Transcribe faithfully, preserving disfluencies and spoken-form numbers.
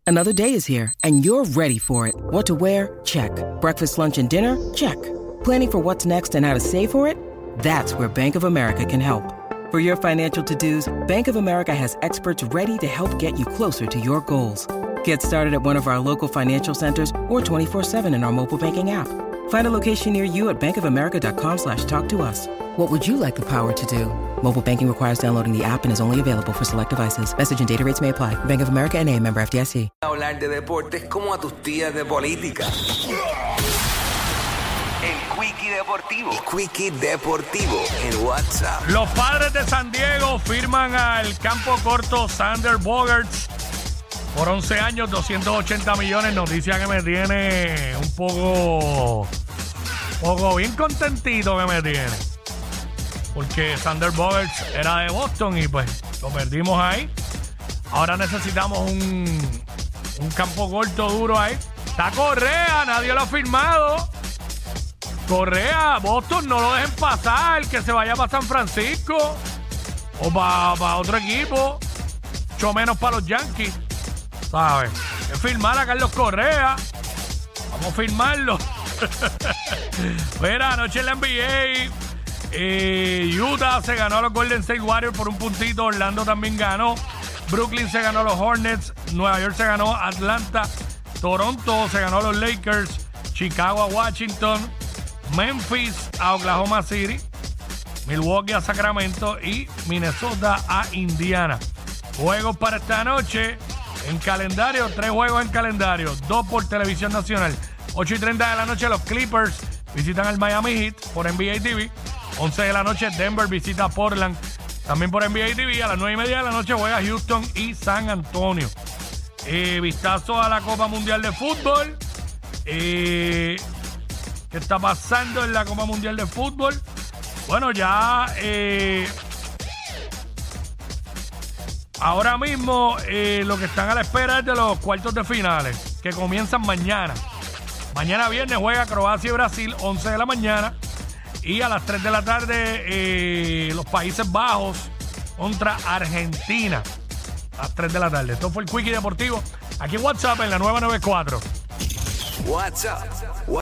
Another day is here, and you're ready for it. What to wear? Check. Breakfast, lunch, and dinner? Check. Planning for what's next and how to save for it? That's where Bank of America can help. For your financial to-dos, Bank of America has experts ready to help get you closer to your goals. Get started at one of our local financial centers or twenty-four seven in our mobile banking app. Find a location near you at bankofamerica.com slash talk to us. What would you like the power to do? Mobile banking requires downloading the app and is only available for select devices. Message and data rates may apply. Bank of America N A, member F D I C. Hablar de deportes como a tus tías de política. El Quickie Deportivo. El Quickie Deportivo en WhatsApp. Los Padres de San Diego firman al campo corto Xander Bogaerts por once años, doscientos ochenta millones. Noticia que me tiene un poco, poco bien contentito que me tiene. Porque Xander Bogaerts era de Boston y pues lo perdimos ahí. Ahora necesitamos un, un campo corto duro ahí. Está Correa, nadie lo ha firmado. Correa, Boston, no lo dejen pasar, que se vaya para San Francisco o para pa otro equipo, mucho menos para los Yankees, ¿sabes? Es firmar a Carlos Correa, vamos a firmarlo. Mira, anoche en la N B A, eh, Utah se ganó a los Golden State Warriors por un puntito, Orlando también ganó, Brooklyn se ganó a los Hornets, Nueva York se ganó a Atlanta, Toronto se ganó a los Lakers, Chicago a Washington, Memphis a Oklahoma City, Milwaukee a Sacramento y Minnesota a Indiana. Juegos para esta noche en calendario, tres juegos en calendario, dos por televisión nacional. ocho y treinta de la noche los Clippers visitan al Miami Heat por N B A T V. once de la noche Denver visita Portland también por N B A T V. A las nueve y media de la noche juega Houston y San Antonio. Eh, vistazo a la Copa Mundial de Fútbol. Eh... ¿Qué está pasando en la Copa Mundial de Fútbol? Bueno, ya eh, ahora mismo eh, lo que están a la espera es de los cuartos de finales, que comienzan mañana. Mañana viernes juega Croacia y Brasil, once de la mañana. Y a las tres de la tarde eh, los Países Bajos contra Argentina. A las tres de la tarde. Esto fue el Quickie Deportivo. Aquí en WhatsApp en la nueva noventa y cuatro. WhatsApp.